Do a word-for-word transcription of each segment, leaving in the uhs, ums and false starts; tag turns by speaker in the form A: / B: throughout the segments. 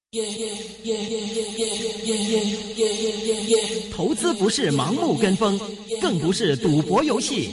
A: 投资不是盲目跟风，更不是赌博游戏。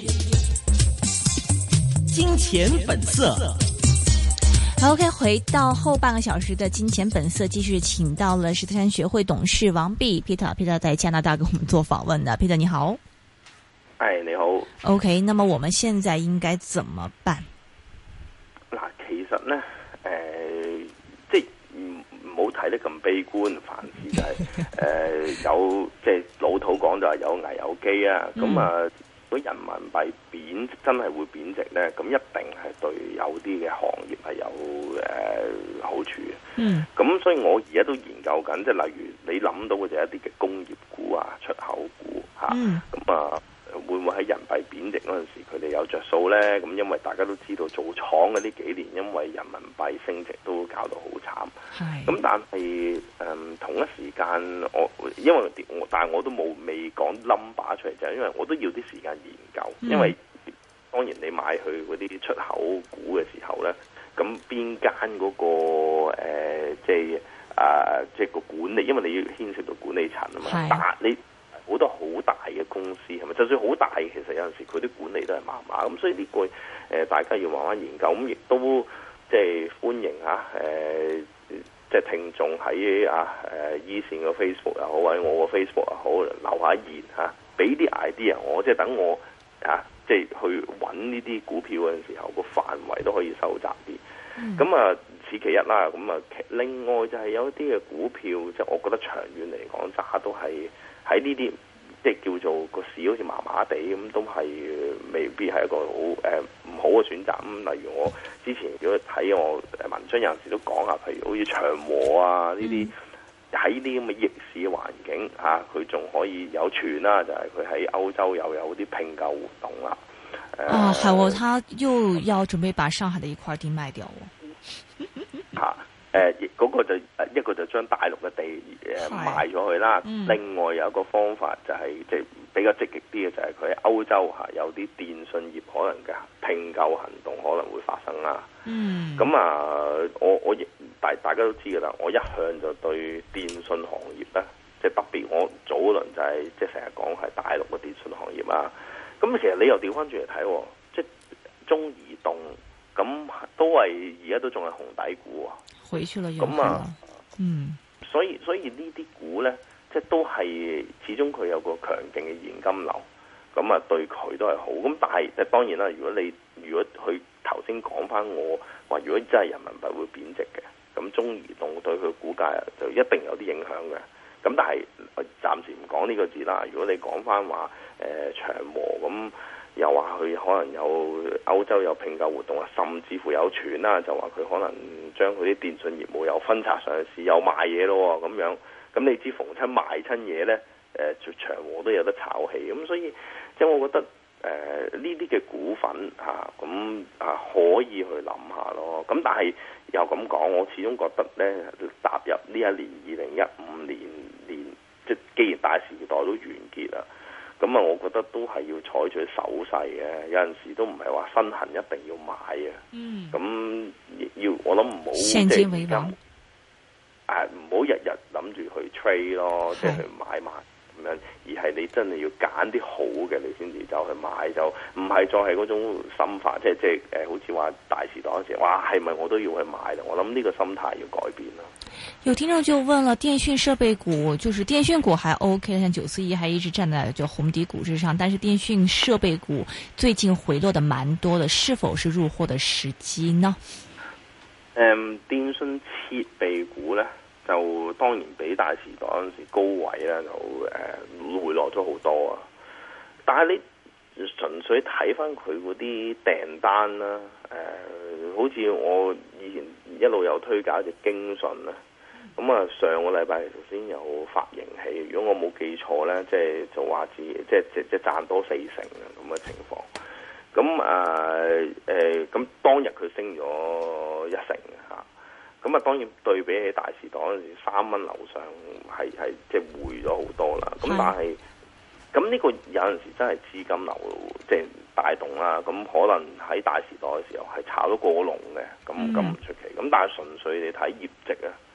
A: 金钱本色。
B: 好 ，OK， 回到后半个小时的金钱本色，继续请到了石特山学会董事王弼 Peter，Peter 在加拿大跟我们做访问的 ，Peter 你好。
C: 哎，你好。
B: OK， 那麼我們現在應該怎麼辦？
C: 嗱，其實咧，誒、呃，即係唔唔好睇得咁悲觀，凡事就係、是、誒、呃、有即係老土講就係有危有機啊。咁、嗯、啊，如果人民幣貶真係會貶值咧，咁一定係對有啲嘅行業係有誒、呃、好處嘅。嗯。咁所以我而家都研究緊，即係例如你諗到嘅就係一啲嘅工業股啊、出口股嚇。嗯。咁啊。會唔會喺人幣貶值嗰陣時，佢哋有着數呢？咁因為大家都知道做廠嘅呢幾年，因為人民幣升值都搞到好慘。係。咁但係誒、嗯、同一時間，我因為我但係我都冇未講 number 出嚟，就係因為我都要啲時間研究。嗯、因為當然你買去嗰啲出口股嘅時候呢，咁邊間嗰個、呃、即係啊、呃、即係個管理，因為你要牽涉到管理層啊嘛。但你好多好大嘅公司係咪？就算好大，其實有陣時佢啲管理都係麻麻咁，所以呢個誒、呃、大家要慢慢研究。咁亦都即係歡迎嚇誒，即係聽眾喺啊誒依線嘅 Facebook 又好，或者我個 Facebook 又好，留下言嚇，俾啲 idea 我，即係等我啊，即係去揾呢啲股票嗰陣時候，個範圍都可以收窄啲。咁、嗯、啊，此其一啦。咁啊，另外就係有一啲嘅股票，即係我覺得長遠嚟講，揸都係。喺呢啲即係叫做個市好似麻麻地咁，都係未必係一個好誒唔好嘅選擇。咁例如我之前如果睇我文章有陣時都講下，譬如好似長和啊呢啲喺呢啲咁嘅逆市嘅環境嚇，佢、啊、仲可以有傳啦，就係佢喺歐洲又有啲併購活動啦。
B: 啊，係喎、呃，他又要準備把上海的一塊地賣掉喎。
C: 嚇！誒、呃，嗰、那個就一個就將大陸嘅地誒賣咗去啦。嗯、另外有一個方法就係即係比較積極啲嘅，就係佢喺歐洲嚇有啲電信業可能嘅併購行動可能會發生啦。嗯。咁啊，我我亦大大家都知㗎啦。我一向就對電信行業咧，即、就、係、是、特別我早輪就係即係成日講係大陸嘅電信行業啦。咁其實你又調翻轉嚟睇，即係中移動咁都係而家都仲係紅底股喎。
B: 回去了咁啊，嗯，
C: 所以所以呢啲股咧，即係都係始終佢有個強勁嘅現金流，咁啊對佢都係好。咁但係即係當然啦，如果你如果佢頭先講翻我話，如果真係人民幣會貶值嘅，咁中移動對佢股價就一定有啲影響嘅。咁但係我暫時唔講呢個字啦。如果你講翻話誒長和咁。又話佢可能有歐洲有併購活動啊，甚至乎有傳啦，就話佢可能將佢啲電信業務又分拆上市，又賣嘢咯咁樣。咁你知逢親賣親嘢呢，誒長和都有得炒氣。咁所以即係我覺得誒呢啲嘅股份嚇咁啊，啊可以去諗下咯。咁但係又咁講，我始終覺得呢，踏入呢一年二零一五年年，即係既然大時代都完結啦。咁啊，我覺得都係要採取守勢嘅，有陣時都唔係話身痕一定要買嘅。嗯。咁要我諗唔好即係而家，誒唔好日日諗住去 trade 咯，即係去買賣咁樣，而係你真係要揀啲好嘅，你先至走去買，就唔係再係嗰種心法，即係即係誒，好似話大時代嗰時，哇係咪我都要去買啦？我諗呢個心態要改變啦。
B: 有聽眾就問了，電訊設備股，就是電訊股還 OK， 像九四一還一直站在就紅底股之上，但是電訊設備股最近回落得蠻多的，是否是入貨的時機呢？
C: 誒、嗯，電訊設備股咧，就當然比大時代嗰陣時高位咧就誒、呃、回落咗好多啊，但係你純粹睇翻佢嗰啲訂單啦，誒、呃，好似我以前一路有推介隻京信啦。咁啊，上個禮拜頭先有發盈喜，如果我冇記錯咧，即係就話自己即係即即賺多四成啊咁嘅情況。咁啊誒，咁、呃、當日佢升咗一成嘅嚇。咁啊，當然對比起大時代嗰陣時三蚊樓上係係即係回咗好多啦。咁但係咁呢個有陣時真係資金流即係帶動啦。咁可能喺大時代嘅時候係炒咗過龍嘅，咁咁唔出奇。咁但係純粹你睇業績啊。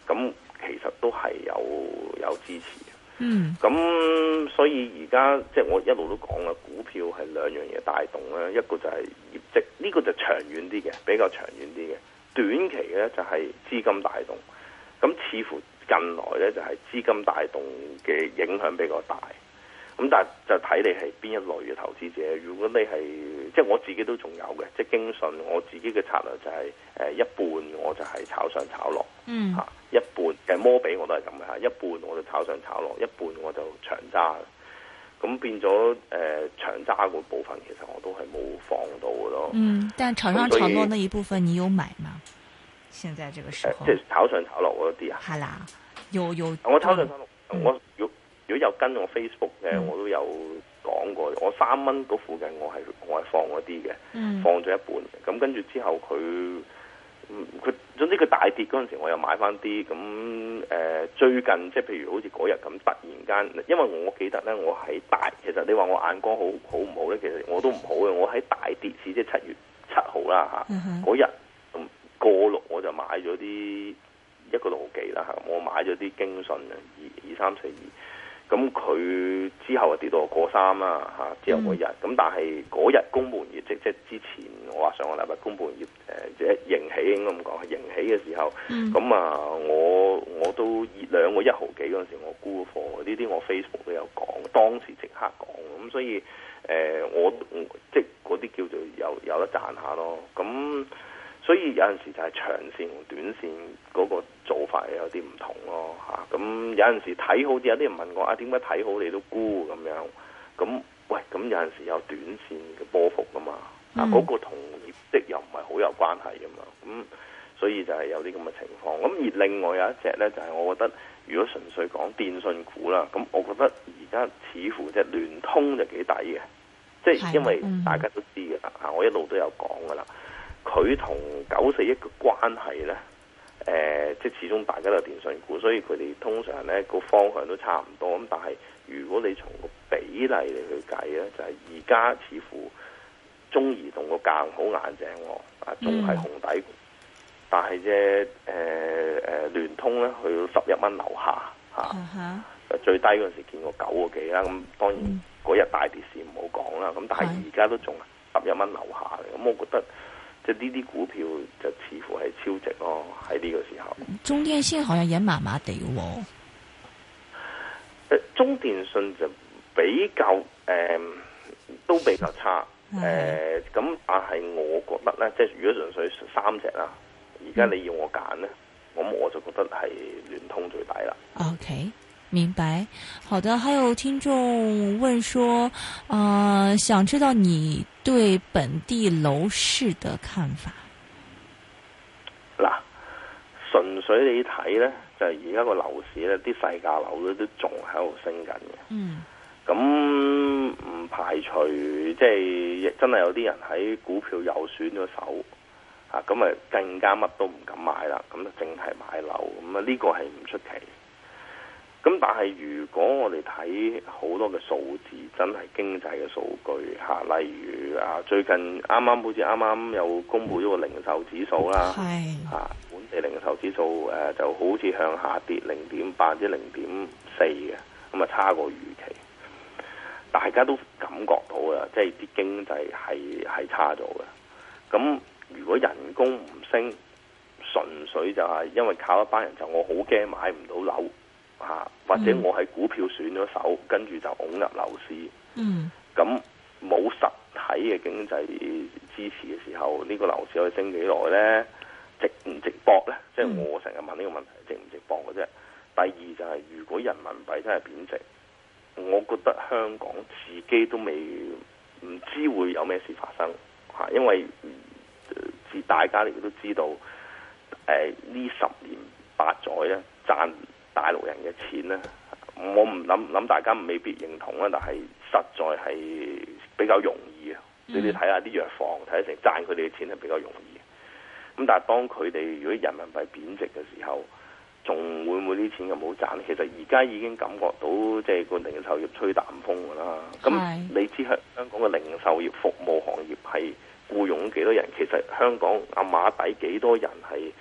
C: 咁其實都係有有支持嘅。
B: 嗯，
C: 咁所以而家即係我一路都講啦，股票係兩樣嘢帶動啦，一個就係業績，呢、這個就長遠啲嘅，比較長遠啲嘅。短期嘅就係資金帶動，咁似乎近來咧就係資金帶動嘅影響比較大。咁但係就睇你係邊一類嘅投資者。如果你係即係我自己都仲有嘅，即係京信，我自己嘅策略就係、是、誒、呃、一半我就係炒上炒落，
B: 嗯
C: 嚇、啊、一半嘅摩比我都係咁嘅嚇，一半我就炒上炒落，一半我就長揸。咁變咗誒、呃、長揸個部分其實我都係冇放到嘅咯。
B: 嗯，但炒上炒落那一部分你有買嗎？現在這個時候，
C: 呃、即係炒上炒落嗰啲啊？
B: 係啦，有有。
C: 我炒上炒落，
B: 嗯、
C: 我如果如果有跟我 Facebook 嘅，
B: 嗯、
C: 我都有講過。我三蚊嗰附近我係我係放嗰啲嘅，
B: 嗯、
C: 放咗一半。咁跟住之後佢，佢總之佢大跌嗰陣時，我又買翻啲。咁誒、呃、最近即係譬如好似嗰日咁，突然間，因為我記得咧，我喺大，其實你話我眼光好好唔好咧？其實我都唔好嘅。我喺大跌市，即係七月七號啦嚇，嗰日過六我就買咗啲一個六毫幾啦嚇，我買咗啲京信啊，二二三四二。咁佢之後啊跌到過三啦嚇，之後嗰日咁，但係嗰日公佈業績，即係之前我話上個禮拜公佈業誒即係盈喜應該咁講，係盈喜嘅時候，咁、嗯、啊我我都兩個一毫幾嗰陣時我沽貨，呢啲我 Facebook 都有講，當時即刻講，咁所以誒、呃、我即係嗰啲叫做有有得賺下咯，咁。所以有陣時就係長線同短線嗰個做法有啲唔同咯嚇，咁、啊、有陣時睇好啲，有啲人問我啊，點解睇好你都沽咁樣？咁喂，咁有陣時有短線嘅波幅噶嘛，啊嗰、那個同業績又唔係好有關係噶嘛，咁所以就係有啲咁嘅情況。咁而另外有一隻咧，就係、是、我覺得如果純粹講電信股啦，咁我覺得而家似乎隻聯通就幾抵嘅，即係因為大家都知嘅啦嚇，我一路都有講噶啦。佢同九四一嘅關係呢，誒、呃，即係始終大家都係電信股，所以佢哋通常呢個方向都差唔多。咁但係如果你從個比例嚟去計呢，就係而家似乎中移動個價好硬淨喎，啊，仲係紅底股，嗯、但係啫誒誒聯通呢，去到十一蚊樓下嚇，啊嗯、最低嗰陣時見過九個幾啦。咁當然嗰日大跌市唔好講啦。咁但係而家都仲十一蚊樓下嘅，咁我覺得。即係呢啲股票就似乎係超值咯，喺呢個時候。
B: 中電信好像也麻麻地喎。
C: 誒，中電信就比較誒、呃，都比較差。誒、呃，咁但係我覺得咧，即係如果純粹三隻啦，而家你要我揀咧，咁、嗯、我就覺得係聯通最抵啦。
B: OK。明白，好的。還有聽眾問說，呃，想知道你對本地樓市的看法。
C: 嗱，純粹你睇咧，就係而家個樓市咧，啲細價樓咧都仲喺度升緊嘅。嗯。咁唔排除即係真係有啲人喺股票又選咗手，啊，咁啊更加乜都唔敢買啦，咁就淨係買樓，咁啊呢個係唔出奇。咁但係如果我哋睇好多嘅數字，真係經濟嘅數據嚇、啊，例如啊最近啱啱好似啱啱又公布咗個零售指數啦，嚇、啊、本地零售指數誒、啊、就好似向下跌零點八至零點四嘅，咁啊差過預期，大家都感覺到啊，即係啲經濟係係差咗嘅。咁如果人工唔升，純粹就係因為靠一班人，就我好驚買唔到樓。嚇，或者我係股票選咗手，跟住就拱入樓市。嗯，咁冇實體嘅經濟支持嘅時候，呢、呢個樓市可以升幾耐呢？值唔值博呢？即係、嗯、我成日問呢個問題，值唔值博嘅啫。第二就係、是、如果人民幣真係貶值，我覺得香港自己都未唔知會有咩事發生嚇，因為自、呃、大家亦都知道，誒、呃、呢十年八載咧賺大陸人嘅錢咧，我唔諗諗大家未必認同啦，但係實在係比較容易啊！嗯、你哋睇下啲藥房，睇成賺佢哋嘅錢係比較容易。咁但係當佢哋如果人民幣貶值嘅時候，仲會唔會啲錢咁好賺？其實而家已經感覺到即係個零售業吹淡風㗎啦。咁是你知香香港嘅零售業服務行業係僱傭幾多人？其實香港阿馬底幾多人係？即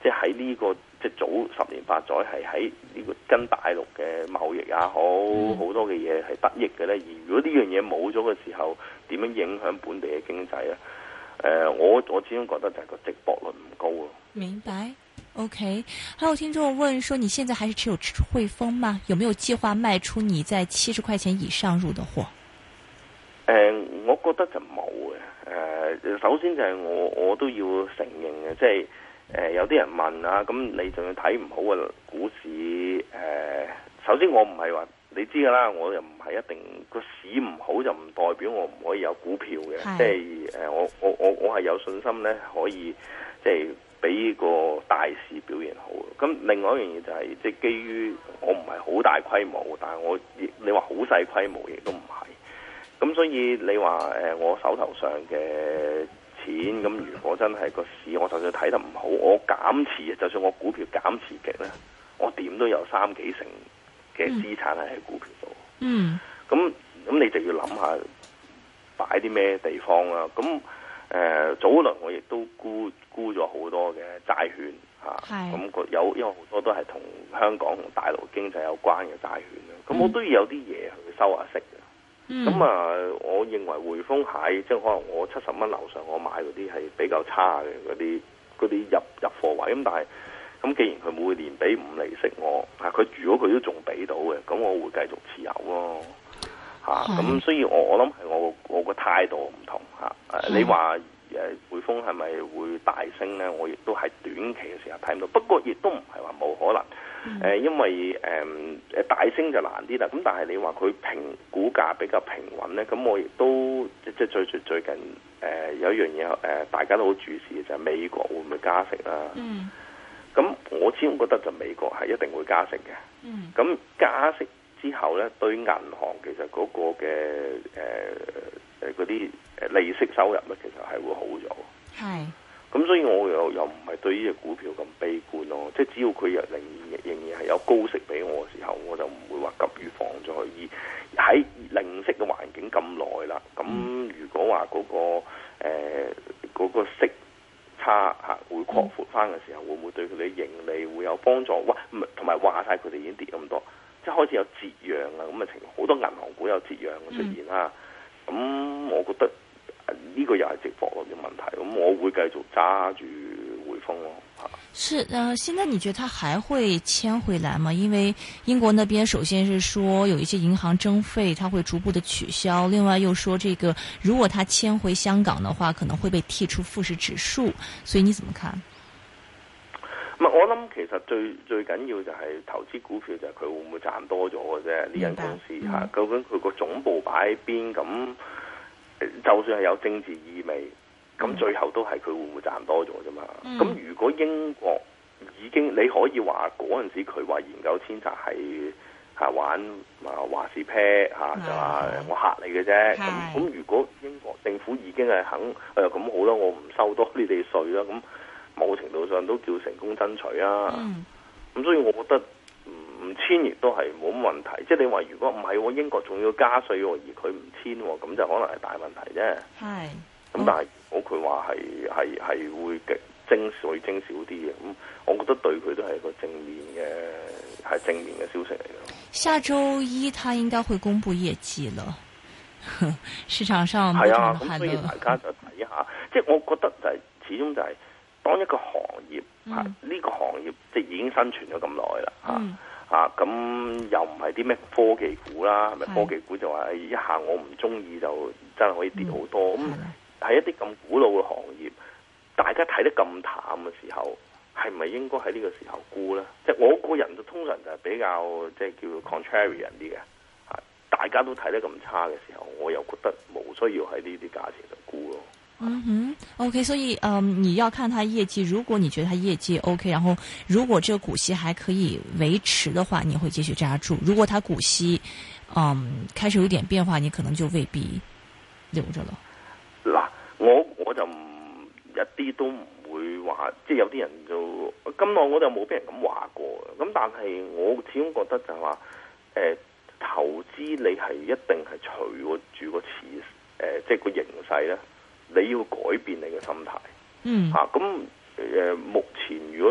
C: 即係喺呢個即係早十年八載係喺呢個跟大陸嘅貿易也好，好、嗯、多嘅嘢係得益嘅咧。而如果呢樣嘢冇咗嘅時候，點樣影響本地嘅經濟啊？誒、呃，我我始終覺得就係個值博率唔高咯。
B: 明白。OK，還有聽眾問說，你現在還是持有匯豐嗎？有沒有計劃賣出你在七十塊錢以上入的貨？
C: 誒、呃，我覺得就冇嘅。誒、呃，首先就係我我都要承認嘅，即係誒、呃、有啲人問啊，咁你仲要睇唔好嘅股市？誒、呃，首先我唔係話你知噶啦，我又唔係一定個市唔好就唔代表我唔可以有股票嘅，即係誒我我我我係有信心咧可以即係。比個大市表現好。咁另外一樣嘢就係、是，即係基於我唔係好大規模，但係我亦你話好細規模亦都唔係。咁所以你話誒、呃，我手頭上嘅錢，咁如果真係個市，我就算睇得唔好，我減持，就算我股票減持極咧，我點都有三幾成嘅資產係喺股票度。嗯。咁咁你就要諗下擺啲咩地方啦。咁誒、呃、早輪我亦都沽。沽咗好多嘅債券嚇，咁個有因為好多都係同香港同大陸經濟有關嘅債券啦，咁、嗯、我都要有啲嘢去收下息嘅。咁、嗯、啊，我認為匯豐係即係可能我七十蚊樓上我買嗰啲係比較差嘅嗰啲嗰啲入入貨位，咁但係咁既然佢每年俾五厘息我，啊佢如果佢都仲俾到嘅，咁我會繼續持有咯嚇。咁、啊、所以我我諗係我我個態度唔同嚇。誒、啊、你話？誒匯豐係咪會大升咧？我亦都係短期嘅時候睇唔到，不過亦都唔係話冇可能。誒、嗯呃，因為誒誒、呃、大升就難啲啦。咁但係你話佢平股價比較平穩咧，咁我亦都即係最最最近誒、呃、有一樣嘢誒，大家都好注視嘅就係、是、美國會唔會加息啦？嗯。咁我始終覺得就美國係一定會加息嘅。嗯。咁加息之後咧，對銀行其實嗰個嘅誒誒嗰啲誒利息收入咧，其實係會好咗。係。咁所以我又又唔係對呢隻股票咁悲觀咯。即係只要佢仍然仍然係有高息俾我嘅時候，我就唔會話急於放咗去。而喺零息嘅環境咁耐啦，咁如果話嗰、嗰個誒嗰、呃嗰個息差嚇會擴闊翻嘅時候，會唔會對佢哋盈利會有幫助？哇！同埋話晒佢哋已經跌咁多。即係開始有折讓啊，咁嘅情況，好多銀行股有折讓嘅出現啦。咁、嗯、我覺得呢個又係值博率嘅問題，咁我會繼續揸住匯豐咯。
B: 是，呃，現在你覺得它還會遷回來嗎？因為英國那邊首先是說有一些銀行徵費，它會逐步的取消，另外又說這個如果它遷回香港的話，可能會被剔出富時指數，所以你怎麼看？
C: 我諗其實最最緊要就係投資股票就係佢會唔會賺多咗嘅啫。呢間公司吓、嗯，究竟佢個總部擺喺邊？咁就算係有政治意味，咁、嗯、最後都係佢會唔會賺多咗啫嘛？咁、嗯、如果英國已經你可以話嗰陣時佢話研究遷冊係吓玩啊話事啤吓，就話我嚇你嘅啫。咁咁如果英國政府已經係肯誒咁、哎、好啦，我唔收多你哋稅啦咁。某程度上都叫成功爭取啊！咁、嗯、所以我覺得唔簽亦都係冇乜問題。即係你話如果唔係喎，英國仲要加稅喎，而佢唔簽喎，咁就可能係大問題啫。係。咁但係如果佢話係係係會徵稅徵少啲嘅，咁我覺得對佢都係一個正面嘅係正面嘅消息嚟嘅。
B: 下週一他應該會公布業績了，市場上
C: 係啊，咁所以大家就睇下。即係我覺得就係、是、始終就係、是。當一個行業嚇，呢、嗯這個行業即係已經生存咗咁耐啦嚇嚇，咁、嗯啊、又唔係啲咩科技股啦，係咪科技股就話一下我唔中意就真係可以跌好多？咁、嗯、喺一啲咁古老嘅行業，大家睇得咁淡嘅時候，係咪應該喺呢個時候沽咧？即係我個人就通常就係比較即係叫做 contrarian 啲嘅嚇，大家都睇得咁差嘅時候，我又覺得冇需要喺呢啲價錢度沽咯。
B: 嗯哼 ，OK， 所以嗯，你要看它業績。如果你覺得它業績 OK， 然後如果這個股息還可以維持的話，你會繼續揸住。如果它股息嗯開始有點變化，你可能就未必留着了。
C: 嗱，我我就唔一啲都唔會話，即係有啲人就咁耐我就冇俾人咁話過。咁但係我始終覺得就係話，誒、呃，投資你係一定係隨住個市誒，即係個形勢咧。你要改變你嘅心態，嗯，嚇咁誒。目前如果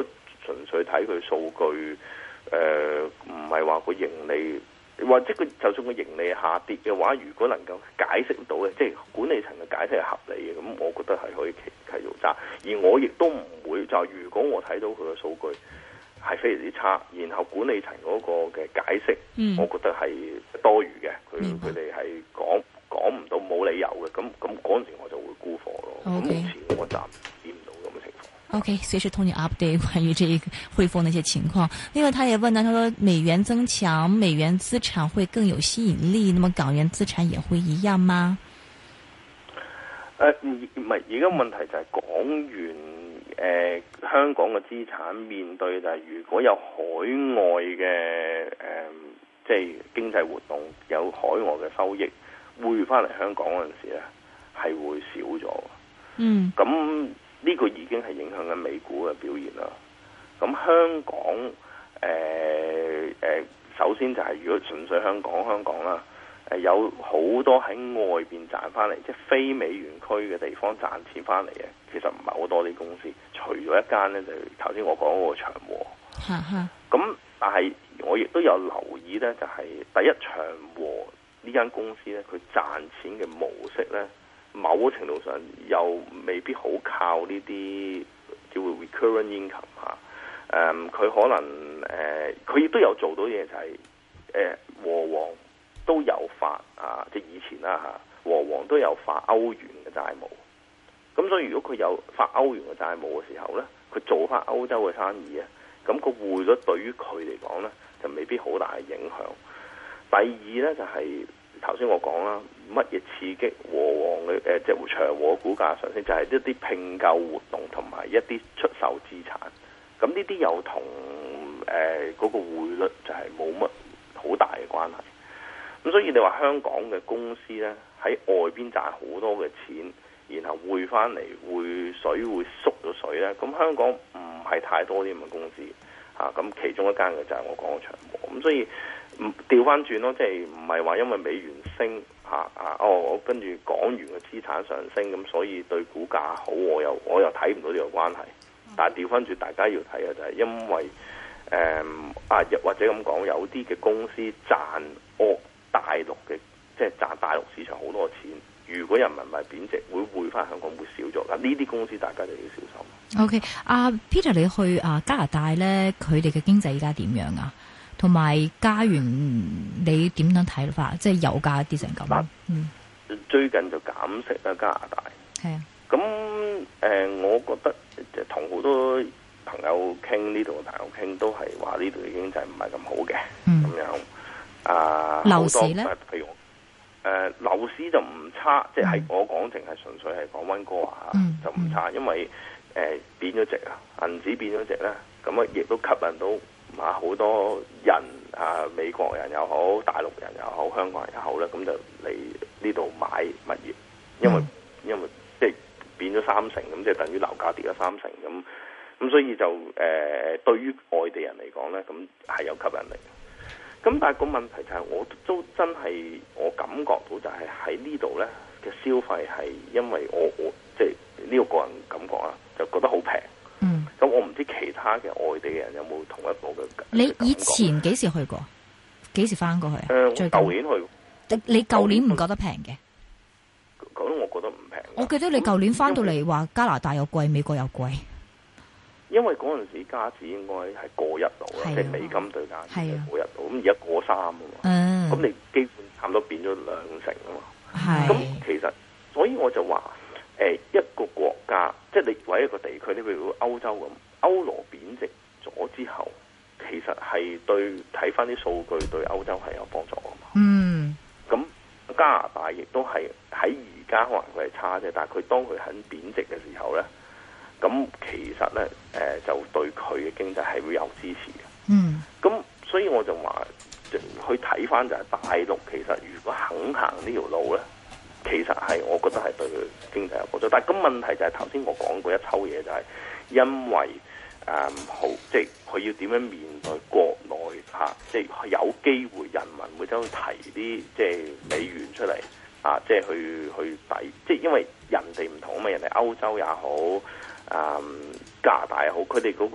C: 純粹睇佢數據，誒唔係話個盈利。或者佢就算個盈利下跌嘅話，如果能夠解釋到嘅，即係管理層嘅解釋係合理嘅，咁我覺得係可以繼繼續揸。而我亦都唔會就係如果我睇到佢嘅數據係非常之差，然後管理層嗰個嘅解釋，嗯、我覺得係多餘嘅，佢佢哋係講講唔到冇理由嘅，咁咁嗰陣時我就會沽貨咯。咁
B: Okay.
C: 目前我暫時見唔到咁嘅情況。
B: OK，隨時同你 update 關於這一個匯豐那些情況。另外，他也問到，他說美元增強，美元資產會更有吸引力，那麼港元資產也會一樣嗎？
C: 誒、呃，唔係，而家問題就係港元誒、呃，香港嘅資產面對就係如果有海外嘅誒、呃，即係經濟活動有海外嘅收益匯翻嚟香港嗰陣時咧，係會少咗。嗯，咁。呢個已經係影響緊美股嘅表現啦。咁香港誒誒、呃呃，首先就係如果純粹香港香港啦，誒、呃、有好多喺外邊賺翻嚟，即係非美元區嘅地方賺錢翻嚟嘅，其實唔係好多啲公司，除咗一間咧，就頭先我講嗰個長和。嚇嚇。咁但係我亦都有留意咧，就係、是、第一長和呢間公司咧，佢賺錢嘅模式咧。某程度上又未必好靠呢啲叫做 recurrent income 嚇、啊，誒佢可能誒佢亦都有做到嘢，就係誒和黃都有發啊，即係以前啦嚇，和黃都有發歐元嘅債務，咁所以如果佢有發歐元嘅債務嘅時候咧，佢做翻歐洲嘅生意啊，咁個匯率對於佢嚟講咧就未必好大嘅影響。第二咧就係、是。頭先我講啦，乜嘢刺激和黃嘅誒，即係長和股價上升，就係、是、一啲併購活動同埋一啲出售資產。咁呢啲又同誒嗰個匯率就係冇乜好大嘅關係。咁所以你話香港嘅公司咧喺外邊賺好多嘅錢，然後匯翻嚟匯水會縮咗水咧，咁香港唔係太多啲咁嘅公司嚇。咁、啊、其中一間嘅就係我講嘅長和。咁所以。唔調翻轉咯，即係唔係話因為美元升嚇啊哦，我跟住港元嘅資產上升，咁所以對股價好，我又我又睇唔到呢個關係。但係調翻轉，大家要睇嘅就係因為誒、嗯、啊，或者咁講，有啲嘅公司賺哦大陸嘅，即係賺大陸市場好多錢。如果人民幣貶值，會匯翻香港會少咗。嗱，呢啲公司大家就要小心。
B: OK，阿、uh, Peter，你去啊加拿大咧，佢哋嘅經濟而家點樣啊？同埋加元，你點樣睇法？即係油價跌成咁。嗯，
C: 最近就減息啦，加拿大。係啊。咁誒、呃，我覺得同好多朋友傾呢度嘅朋友傾，都係話呢度嘅經濟唔係咁好嘅。嗯。咁樣啊，樓市咧？譬如誒樓市就唔差，即係、嗯、我講淨係純粹係講溫哥華、嗯、就唔差，因為誒貶咗值啊，銀紙貶咗值咧，咁啊亦都吸引到。啊！好多人啊，美國人又好，大陸人又好，香港人又好咧，咁就嚟呢度買物業，因為、嗯、因為即係變咗三成，咁即係等於樓價跌咗三成，咁咁所以就誒、呃、對於外地人嚟講咧，咁係有吸引力。咁但係個問題就係、是，我都真係我感覺到就係喺呢度咧嘅消費係因為我我即係呢個個人感覺啊，就覺得好平。嗯，咁我唔知其他嘅外地嘅人有冇同一個嘅。你
B: 以前幾時去過？幾時翻過去啊？
C: 誒、呃，舊年去。
B: 你你舊年唔覺得平嘅？
C: 舊年我覺得唔平。
B: 我記得你舊年翻到嚟話加拿大又貴，美國又貴。
C: 因為嗰陣時加紙應該係過一度啦，即係美金對加紙係過一度，咁而家過三啊嘛。嗯。咁你基本差唔多變咗兩成啊嘛。係。咁其實，所以我就話。誒、呃、一個國家，即係你為一個地區，你譬如歐洲咁，歐羅貶值咗之後，其實係對睇翻啲數據對歐洲係有幫助㗎嘛。嗯，咁加拿大亦都係喺而家可能佢係差啫，但係佢當佢肯貶值嘅時候咧，咁其實咧誒、呃、就對佢嘅經濟係會有支持嘅。嗯，咁所以我就話，去睇翻就係大陸其實如果肯行呢條路咧。其實係，我覺得係對佢經濟有幫助，但係咁問題就係頭先我講過一抽嘢，就係因為誒、嗯、好，即係佢要點樣面對國內嚇、啊，即係有機會人民會走去提啲即係美元出嚟啊，即係去去抵，即係因為人哋唔同啊嘛，人哋歐洲也好，誒、嗯、加拿大也好，佢哋嗰個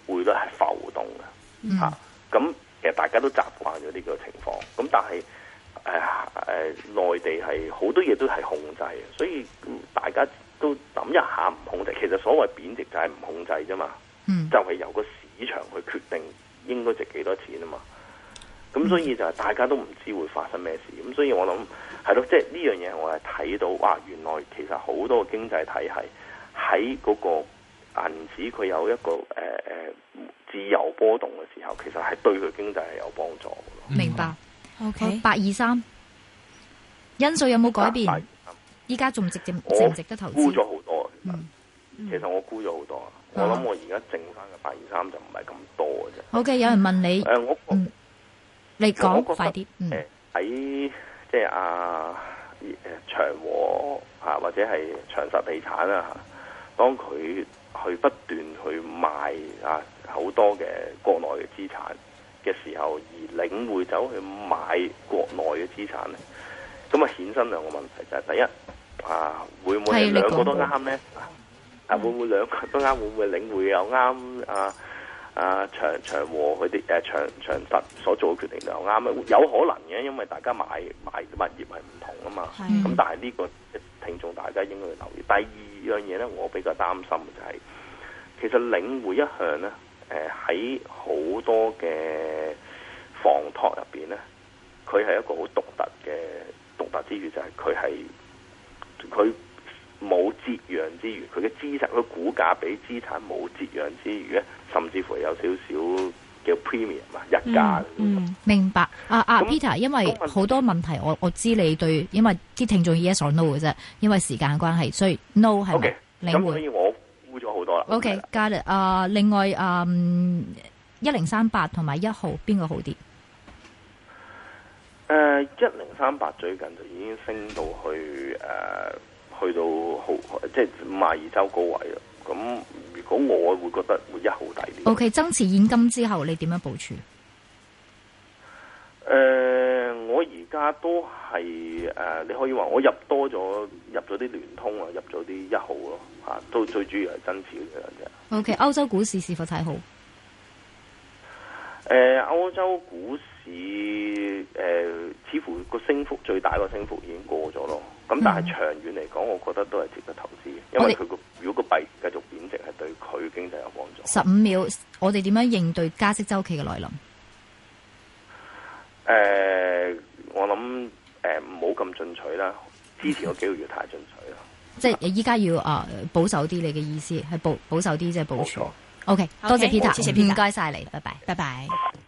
C: 匯率係浮動嘅嚇。咁、嗯啊、其實大家都習慣咗呢個情況。咁但係誒誒內地係好多嘢都係控制嘅，所以大家都諗一下唔控制。其實所謂貶值就係唔控制啫嘛。嗯、就係由個市場去決定應該值幾多錢啊嘛。咁所以就係大家都唔知會發生咩事。咁所以我諗係咯，即係呢樣嘢我係睇到，哇！原來其實好多個經濟體系喺嗰個銀紙佢有一個誒誒、呃、自由波動嘅時候，其實係對佢經濟係有幫助嘅。
D: 明白。
B: O K，
D: 八二三因素有冇改變？依家仲值值值唔值得投資？
C: 沽咗好多，
D: 嗯嗯、
C: 其實我沽咗好多。嗯、我諗我而家剩翻嘅八二三就唔係咁多嘅啫。
D: O K， 有人問你，誒、
C: 呃、我。
D: 嗯你講快啲。
C: 誒喺即係啊誒長和啊或者係長實地產啊嚇，當佢去不斷去賣啊好多嘅國內嘅資產嘅時候，而領匯走去買國內嘅資產咧，咁啊衍生兩個問題就係、是、第一啊會唔會兩個都啱咧？啊會唔會兩個都啱？會唔會領匯又啱啊？啊長長和佢哋誒長長實所做嘅決定就啱啊，有可能嘅，因為大家買買物業係唔同啊嘛。咁的但係呢個聽眾大家應該要留意。第二樣嘢咧，我比較擔心嘅就係、是，其實領匯一向咧誒喺好多嘅房託入邊咧，佢係一個好獨特嘅獨特之處，就係佢係佢。冇折讓之餘，佢嘅資產，佢股價比資產冇折讓之餘咧，甚至乎有少少叫 premium 啊，日價。
D: 嗯，嗯明白。啊啊那，Peter，因為好多問題，我我知你對，因為啲聽眾 yes or no 嘅啫，因為時間關係，所以 no 係咪？領匯。
C: 咁所以我沽咗好多啦。
D: OK，got it。啊，另外啊，一零三八同埋一號邊個好啲？
C: 誒，一零三八最近就已經升到去誒。呃去到好即係五十二周高位啦。咁如果我會覺得會一毫抵啲。
D: O K， 增持現金之後，你點樣部署？
C: 誒、呃，我而家都係誒、呃，你可以話我入多咗，入咗啲聯通啊，入咗啲一號咯嚇，都最主要係增持嘅啫。
D: O K， 歐洲股市是否睇好？
C: 誒、呃，歐洲股市誒、呃，似乎個升幅最大個升幅已經過咗咯。咁但係長遠嚟講，我覺得都係值得投資嘅，因為佢個如果個幣繼續貶值，係對佢經濟有幫助。
D: 十五秒，我哋點樣應對加息週期嘅來臨？誒、
C: 呃，我諗誒唔好咁進取啦，之前嗰幾個月太進取啦。
D: 即係依家要啊、呃、保守啲，你嘅意思係保保守啲，即係保守。
C: 冇錯。
D: OK， 多謝 Peter，謝謝 Peter，唔該晒你，拜拜，
B: 拜拜。